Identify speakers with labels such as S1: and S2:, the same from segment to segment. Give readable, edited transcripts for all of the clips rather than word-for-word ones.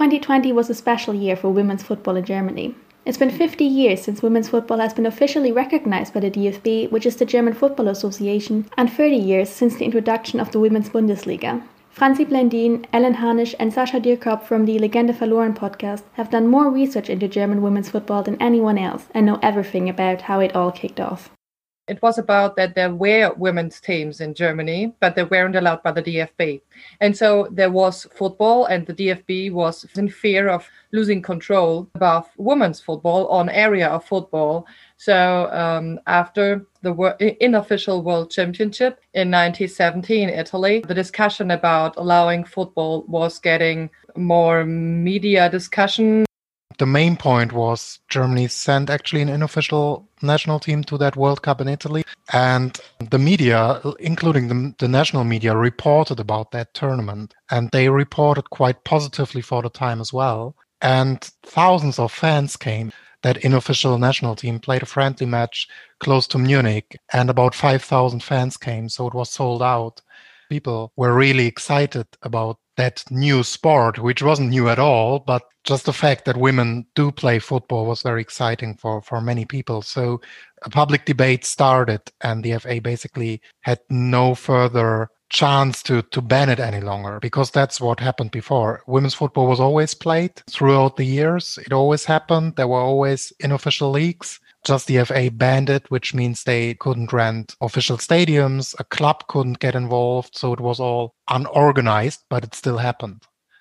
S1: 2020 was a special year for women's football in Germany. It's been 50 years since women's football has been officially recognized by the DFB, which is the German Football Association, and 30 years since the introduction of the Women's Bundesliga. Franzi Blendin, Ellen Harnisch and Sascha Dierkop from the Legende Verloren podcast have done more research into German women's football than anyone else and know everything about how it all kicked off.
S2: It was about that there were women's teams in Germany, but they weren't allowed by the DFB. And so there was football, and the DFB was in fear of losing control above women's football on area of football. So after the unofficial World Championship in 1970 in Italy, the discussion about allowing football was getting more media discussion.
S3: The main point was Germany sent actually an unofficial national team to that World Cup in Italy. And the media, including the national media, reported about that tournament. And they reported quite positively for the time as well. And thousands of fans came. That unofficial national team played a friendly match close to Munich, and about 5,000 fans came. So it was sold out. People were really excited about that new sport, which wasn't new at all, but just the fact that women do play football was very exciting for many people. So a public debate started, and the FA basically had no further chance to ban it any longer, because that's what happened before. Women's football was always played throughout the years. It always happened. There were always unofficial leagues. Just the FA banned it, which means they couldn't rent official stadiums. A club couldn't get involved. So it was all unorganized, but it still happened.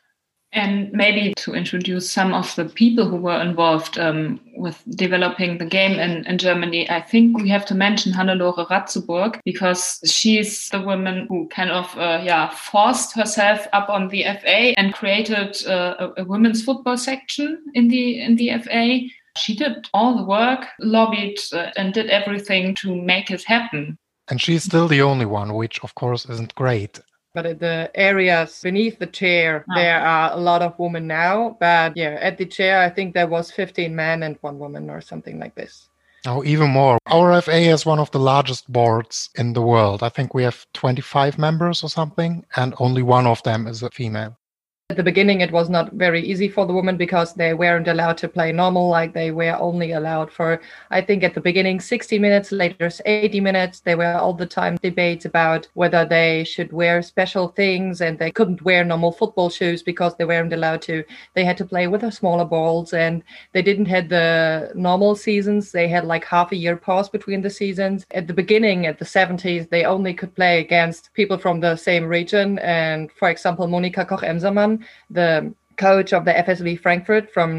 S4: And maybe to introduce some of the people who were involved with developing the game in Germany, I think we have to mention Hannelore Ratzeburg, because she's the woman who kind of forced herself up on the FA and created a women's football section in the FA. She did all the work, lobbied and did everything to make it happen.
S3: And she's still the only one, which of course isn't great.
S2: But in the areas beneath the chair, there are a lot of women now. But yeah, at the chair, I think there was 15 men and 1 woman or something like this.
S3: Oh, even more. Our FA is one of the largest boards in the world. I think we have 25 members or something, and only one of them is a female.
S2: At the beginning, it was not very easy for the women because they weren't allowed to play normal. Like they were only allowed for, I think at the beginning, 60 minutes, later 80 minutes. There were all the time debates about whether they should wear special things, and they couldn't wear normal football shoes because they weren't allowed to. They had to play with the smaller balls, and they didn't have the normal seasons. They had like half a year pause between the seasons. At the beginning, at the 70s, they only could play against people from the same region. And for example, Monika Koch-Emsermann, the coach of the FSV Frankfurt from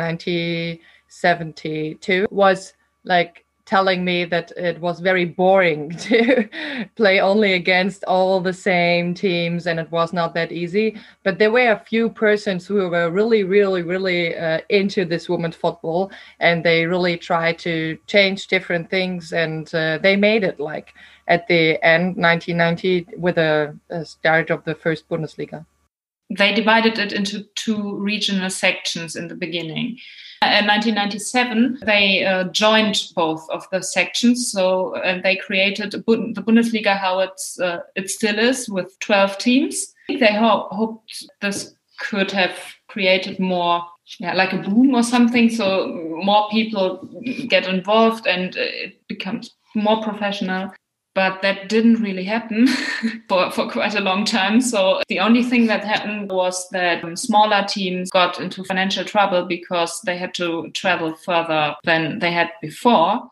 S2: 1972, was like telling me that it was very boring to play only against all the same teams, and it was not that easy. But there were a few persons who were really, really, really into this women's football, and they really tried to change different things, and they made it like at the end, 1990, with a start of the first Bundesliga.
S4: They divided it into 2 regional sections in the beginning. In 1997, they joined both of the sections. So they created the Bundesliga, how it still is, with 12 teams. They hoped this could have created more, like a boom or something. So more people get involved and it becomes more professional. But that didn't really happen for quite a long time. So the only thing that happened was that smaller teams got into financial trouble because they had to travel further than they had before.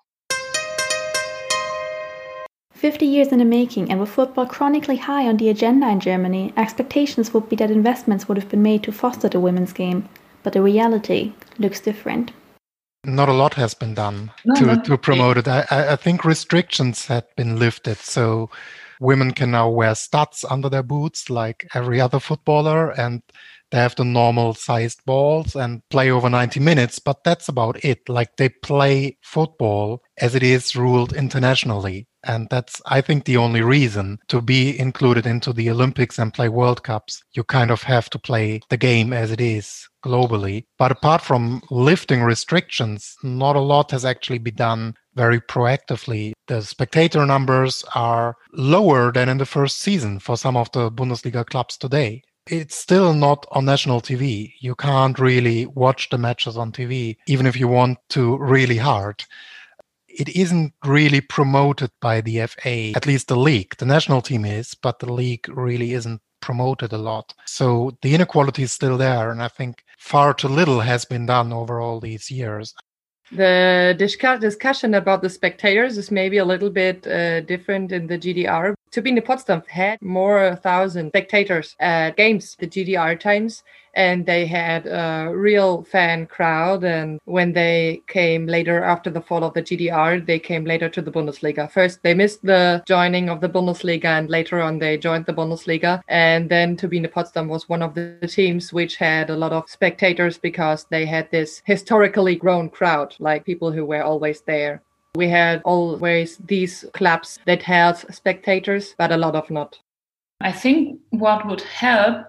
S1: 50 years in the making, and with football chronically high on the agenda in Germany, expectations would be that investments would have been made to foster the women's game. But the reality looks different.
S3: Not a lot has been done to promote it. I think restrictions had been lifted, so women can now wear studs under their boots like every other footballer, and they have the normal sized balls and play over 90 minutes, but that's about it. Like they play football as it is ruled internationally. And that's, I think, the only reason to be included into the Olympics and play World Cups. You kind of have to play the game as it is globally. But apart from lifting restrictions, not a lot has actually been done very proactively. The spectator numbers are lower than in the first season for some of the Bundesliga clubs today. it's still not on national TV. You can't really watch the matches on TV, even if you want to really hard. It isn't really promoted by the FA, at least the league. The national team is, but the league really isn't promoted a lot. So the inequality is still there, and I think far too little has been done over all these years.
S2: The discussion about the spectators is maybe a little bit different in the GDR. Turbine Potsdam had more 1,000 spectators at games, the GDR times, and they had a real fan crowd. And when they came later after the fall of the GDR, they came later to the Bundesliga. First, they missed the joining of the Bundesliga, and later on they joined the Bundesliga. And then Turbine Potsdam was one of the teams which had a lot of spectators because they had this historically grown crowd, like people who were always there. We had always these clubs that had spectators, but a lot of not.
S4: I think what would help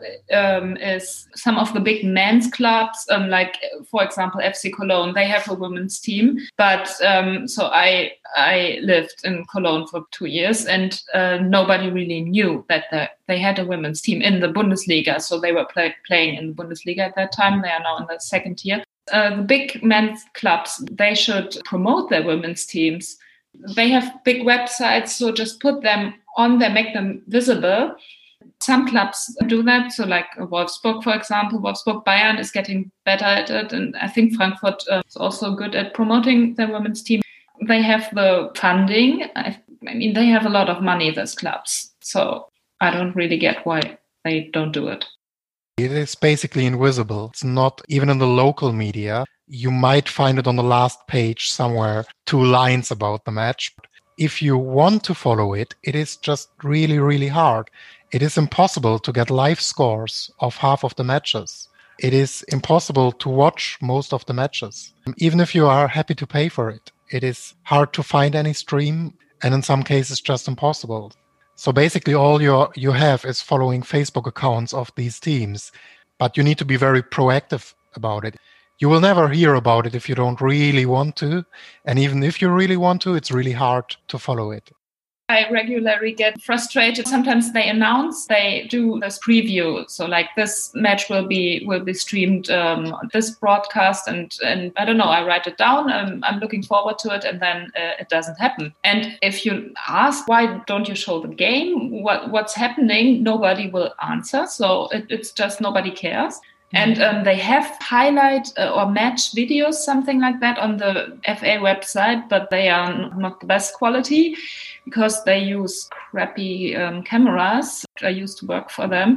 S4: is some of the big men's clubs, like, for example, FC Cologne. They have a women's team. But so I lived in Cologne for 2 years, and nobody really knew that they had a women's team in the Bundesliga. So they were playing in the Bundesliga at that time. They are now in the second tier. The big men's clubs, they should promote their women's teams. They have big websites, so just put them on there, make them visible. Some clubs do that. So like Wolfsburg, for example, Wolfsburg Bayern is getting better at it. And I think Frankfurt is also good at promoting their women's team. They have the funding. I mean, they have a lot of money, those clubs. So I don't really get why they don't do it.
S3: It is basically invisible. It's not even in the local media. You might find it on the last page somewhere, 2 lines about the match. If you want to follow it, it is just really, really hard. It is impossible to get live scores of half of the matches. It is impossible to watch most of the matches. Even if you are happy to pay for it, it is hard to find any stream, and in some cases just impossible. So basically all you have is following Facebook accounts of these teams, but you need to be very proactive about it. You will never hear about it if you don't really want to. And even if you really want to, it's really hard to follow it.
S4: I regularly get frustrated. Sometimes they announce, they do this preview. So like this match will be streamed, this broadcast, and I don't know, I write it down. I'm looking forward to it, and then it doesn't happen. And if you ask, why don't you show the game? What's happening? Nobody will answer. So it's just nobody cares. And they have highlight or match videos, something like that, on the FA website, but they are not the best quality because they use crappy cameras. I used to work for them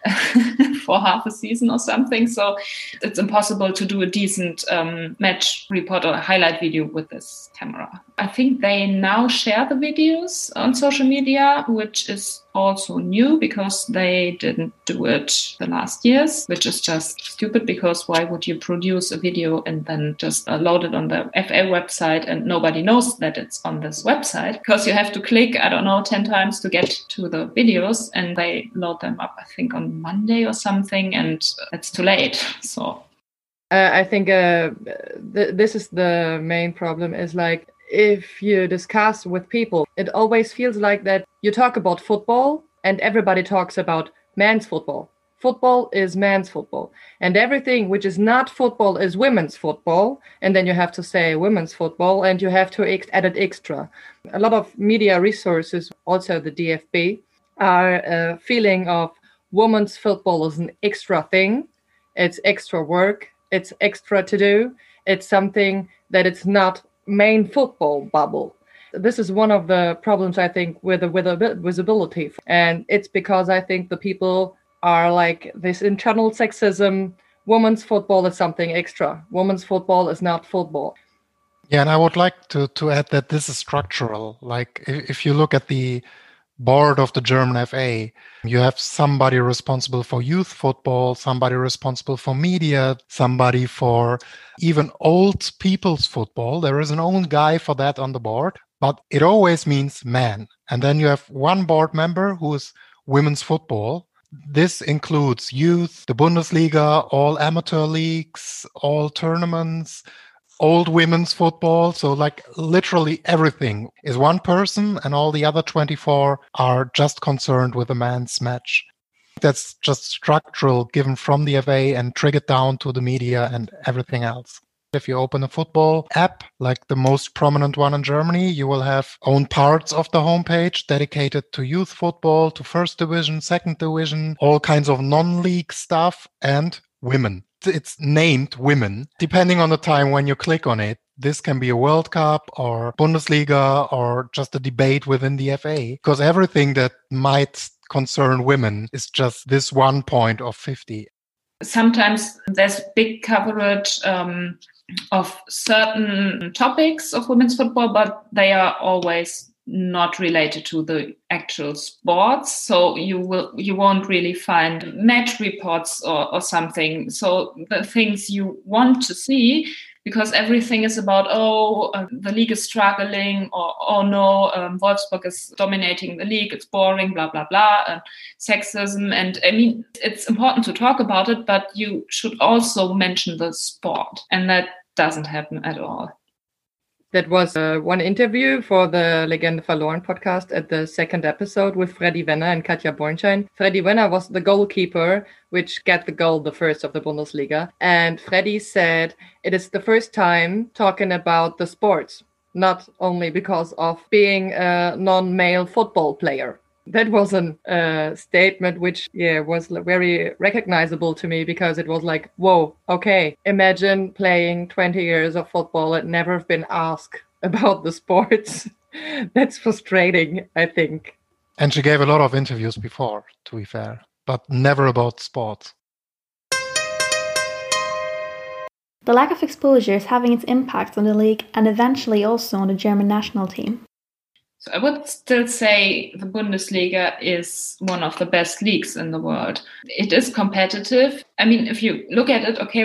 S4: for half a season or something. So it's impossible to do a decent match report or a highlight video with this camera. I think they now share the videos on social media, which is also new because they didn't do it the last years, which is just stupid because why would you produce a video and then just load it on the FA website and nobody knows that it's on this website? Because you have to click, 10 times to get to the videos, and they load them up, I think, on Monday or something, and it's too late. So
S2: I think this is the main problem, is like, if you discuss with people, it always feels like that you talk about football and everybody talks about men's football. Football is men's football, and everything which is not football is women's football. And then you have to say women's football, and you have to add it extra. A lot of media resources, also the DFB, are a feeling of women's football is an extra thing. It's extra work. It's extra to do. It's something that it's not main football bubble. This is one of the problems, I think, with the visibility. And it's because I think the people are like this internal sexism. Women's football is something extra. Women's football is not football.
S3: Yeah, and I would like to add that this is structural. Like if you look at the board of the German FA, you have somebody responsible for youth football, somebody responsible for media, somebody for even old people's football. There is an own guy for that on the board, but it always means man. And then you have one board member who is women's football. This includes youth, the Bundesliga, all amateur leagues, all tournaments, old women's football. So like literally everything is one person, and all the other 24 are just concerned with the men's match. That's just structural, given from the FA and triggered down to the media and everything else. If you open a football app, like the most prominent one in Germany, you will have own parts of the homepage dedicated to youth football, to first division, second division, all kinds of non-league stuff, and women. It's named women. Depending on the time when you click on it, this can be a World Cup or Bundesliga or just a debate within the FA, because everything that might concern women is just this one point of 50.
S4: Sometimes there's big coverage of certain topics of women's football, but they are always not related to the actual sports. So you won't really find match reports or something. So the things you want to see, because everything is about, the league is struggling, or, Wolfsburg is dominating the league, it's boring, blah, blah, blah, sexism. And I mean, it's important to talk about it, but you should also mention the sport. And that doesn't happen at all.
S2: That was one interview for the Legende Verloren podcast at the second episode with Freddy Wenner and Katja Bornschein. Freddy Wenner was the goalkeeper, which got the goal, the first of the Bundesliga. And Freddy said it is the first time talking about the sports, not only because of being a non-male football player. That was a statement which, was very recognizable to me, because it was like, whoa, okay, imagine playing 20 years of football and never have been asked about the sports. That's frustrating, I think.
S3: And she gave a lot of interviews before, to be fair, but never about sports.
S1: The lack of exposure is having its impact on the league and eventually also on the German national team.
S4: So I would still say the Bundesliga is one of the best leagues in the world. It is competitive. I mean, if you look at it, okay,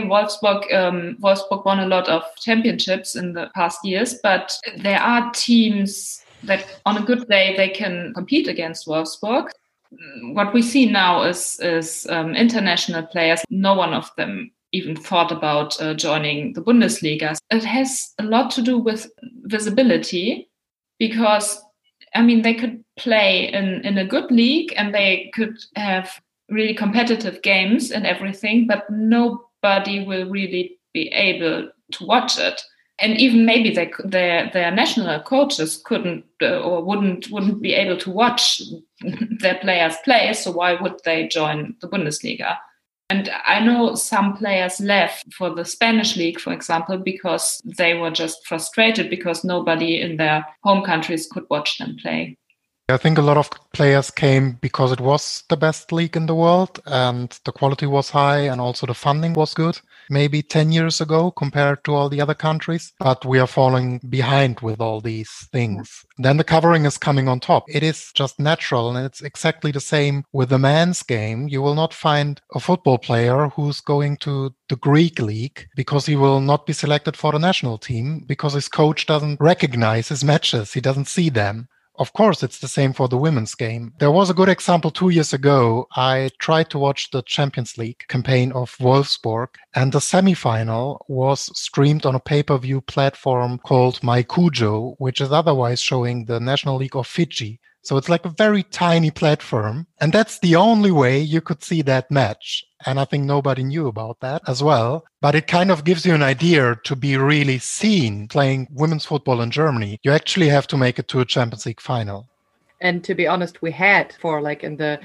S4: Wolfsburg won a lot of championships in the past years, but there are teams that on a good day, they can compete against Wolfsburg. What we see now is international players. No one of them even thought about joining the Bundesliga. It has a lot to do with visibility, because I mean, they could play in a good league and they could have really competitive games and everything, but nobody will really be able to watch it. And even maybe their national coaches couldn't or wouldn't be able to watch their players play. So why would they join the Bundesliga? And I know some players left for the Spanish league, for example, because they were just frustrated because nobody in their home countries could watch them play.
S3: I think a lot of players came because it was the best league in the world and the quality was high and also the funding was good, maybe 10 years ago compared to all the other countries. But we are falling behind with all these things. Then the covering is coming on top. It is just natural, and it's exactly the same with the men's game. You will not find a football player who's going to the Greek league because he will not be selected for the national team because his coach doesn't recognize his matches. He doesn't see them. Of course, it's the same for the women's game. There was a good example 2 years ago. I tried to watch the Champions League campaign of Wolfsburg, and the semifinal was streamed on a pay-per-view platform called MyCujo, which is otherwise showing the National League of Fiji. So it's like a very tiny platform. And that's the only way you could see that match. And I think nobody knew about that as well. But it kind of gives you an idea to be really seen playing women's football in Germany. You actually have to make it to a Champions League final.
S2: And to be honest, we had for like in the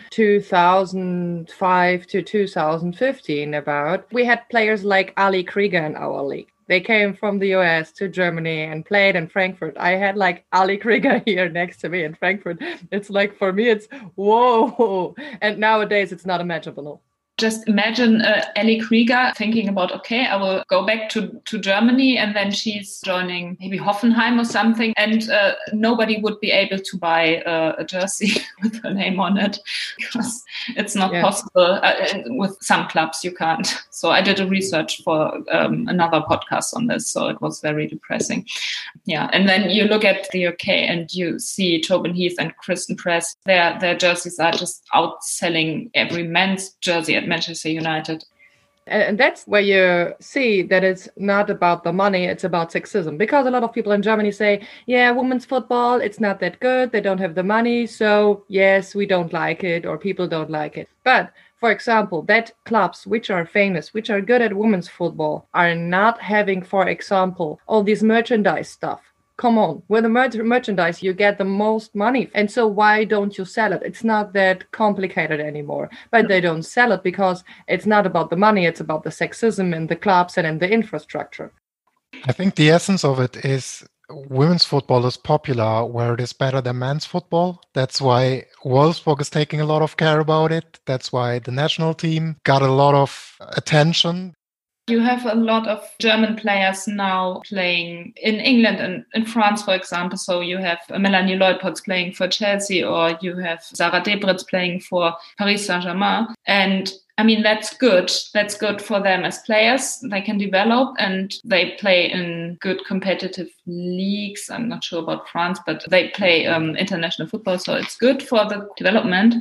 S2: 2005 to 2015 we had players like Ali Krieger in our league. They came from the US to Germany and played in Frankfurt. I had like Ali Krieger here next to me in Frankfurt. It's like, for me, it's whoa. And nowadays it's not imaginable.
S4: Just imagine Ellie Krieger thinking about, okay, I will go back to Germany, and then she's joining maybe Hoffenheim or something, and nobody would be able to buy a jersey with her name on it because it's not possible. With some clubs, you can't. So I did a research for another podcast on this, so it was very depressing. Yeah, and then you look at the UK and you see Tobin Heath and Kristen Press. Their jerseys are just outselling every men's jersey at Manchester United.
S2: And that's where you see that it's not about the money, it's about sexism. Because a lot of people in Germany say, yeah, women's football, it's not that good. They don't have the money. So yes, we don't like it, or people don't like it. But for example, that clubs which are famous, which are good at women's football, are not having, for example, all this merchandise stuff. Come on, with the merchandise, you get the most money. And so why don't you sell it? It's not that complicated anymore. But they don't sell it because it's not about the money. It's about the sexism in the clubs and in the infrastructure.
S3: I think the essence of it is women's football is popular where it is better than men's football. That's why Wolfsburg is taking a lot of care about it. That's why the national team got a lot of attention.
S4: You have a lot of German players now playing in England and in France, for example. So you have Melanie Leupold playing for Chelsea, or you have Sarah Debritz playing for Paris Saint-Germain. And I mean, that's good. That's good for them as players. They can develop and they play in good competitive leagues. I'm not sure about France, but they play international football. So it's good for the development.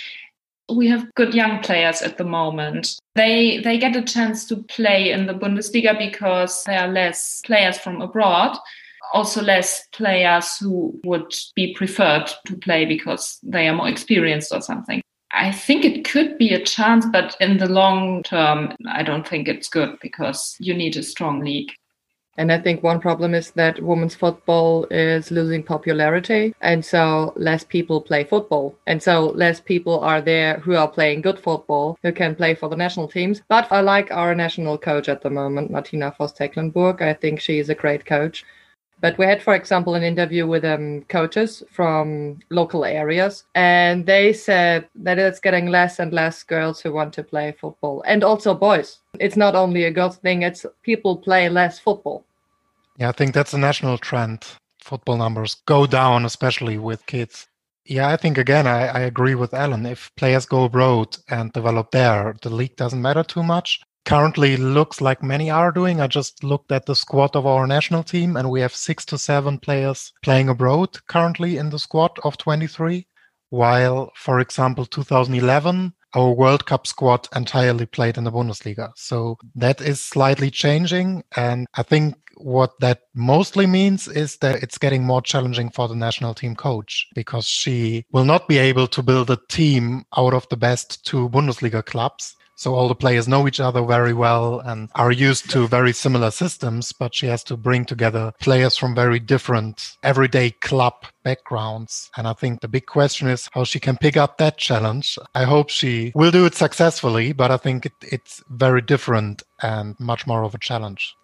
S4: We have good young players at the moment. They get a chance to play in the Bundesliga because there are less players from abroad, also less players who would be preferred to play because they are more experienced or something. I think it could be a chance, but in the long term, I don't think it's good because you need a strong league.
S2: And I think one problem is that women's football is losing popularity. And so less people play football. And so less people are there who are playing good football, who can play for the national teams. But I like our national coach at the moment, Martina Voss-Tecklenburg. I think she is a great coach. But we had, for example, an interview with coaches from local areas. And they said that it's getting less and less girls who want to play football. And also boys. It's not only a girls thing, it's people play less football.
S3: Yeah, I think that's a national trend. Football numbers go down, especially with kids. Yeah, I think, again, I agree with Ellen. If players go abroad and develop there, the league doesn't matter too much. Currently looks like many are doing. I just looked at the squad of our national team, and we have 6 to 7 players playing abroad currently in the squad of 23. While, for example, 2011, our World Cup squad entirely played in the Bundesliga. So that is slightly changing. And I think what that mostly means is that it's getting more challenging for the national team coach, because she will not be able to build a team out of the best 2 Bundesliga clubs. So all the players know each other very well and are used to very similar systems, but she has to bring together players from very different everyday club backgrounds. And I think the big question is how she can pick up that challenge. I hope she will do it successfully, but I think it's very different and much more of a challenge.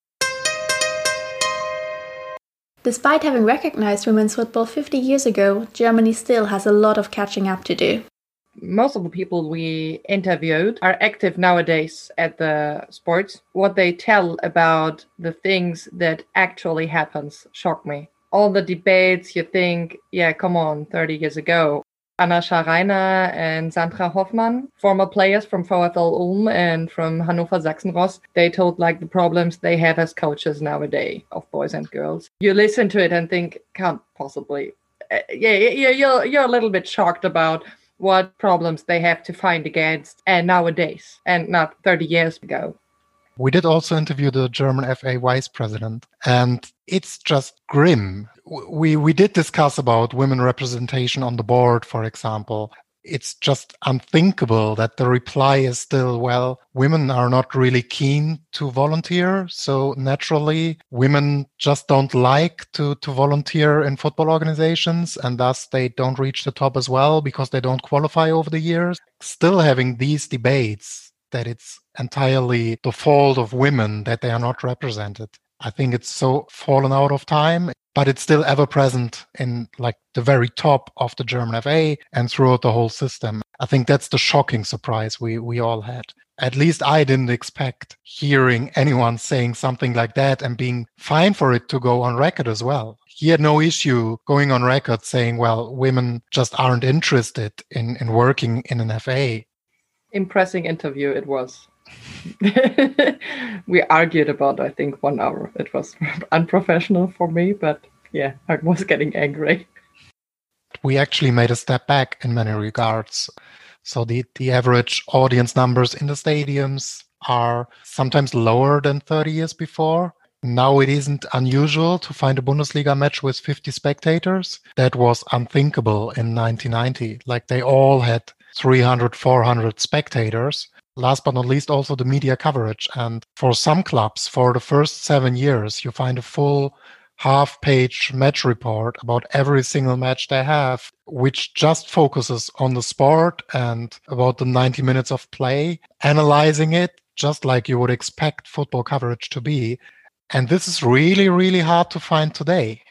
S1: Despite having recognized women's football 50 years ago, Germany still has a lot of catching up to do.
S2: Most of the people we interviewed are active nowadays at the sports. What they tell about the things that actually happens shock me. All the debates, you think, yeah, come on, 30 years ago. Anna Scharainer and Sandra Hoffmann, former players from VfL Ulm and from Hannover Sachsenross, they told like the problems they have as coaches nowadays of boys and girls. You listen to it and think, can't possibly. You're a little bit shocked about what problems they have to find against and nowadays and not 30 years ago.
S3: We did also interview the German FA vice president, and it's just grim. We did discuss about women representation on the board, for example. It's just unthinkable that the reply is still, well, women are not really keen to volunteer. So naturally, women just don't like to volunteer in football organizations, and thus they don't reach the top as well because they don't qualify over the years. Still having these debates that it's entirely the fault of women that they are not represented. I think it's so fallen out of time, but it's still ever present in like the very top of the German FA and throughout the whole system. I think that's the shocking surprise we all had. At least I didn't expect hearing anyone saying something like that and being fine for it to go on record as well. He had no issue going on record saying, well, women just aren't interested in working in an FA.
S2: Impressive interview it was. We argued about, I think, 1 hour. It was unprofessional for me, but yeah, I was getting angry.
S3: We actually made a step back in many regards. So the average audience numbers in the stadiums are sometimes lower than 30 years before. Now it isn't unusual to find a Bundesliga match with 50 spectators. That was unthinkable in 1990. Like they all had 300, 400 spectators. Last but not least, also the media coverage. And for some clubs, for the first 7 years, you find a full half-page match report about every single match they have, which just focuses on the sport and about the 90 minutes of play, analyzing it just like you would expect football coverage to be. And this is really, really hard to find today.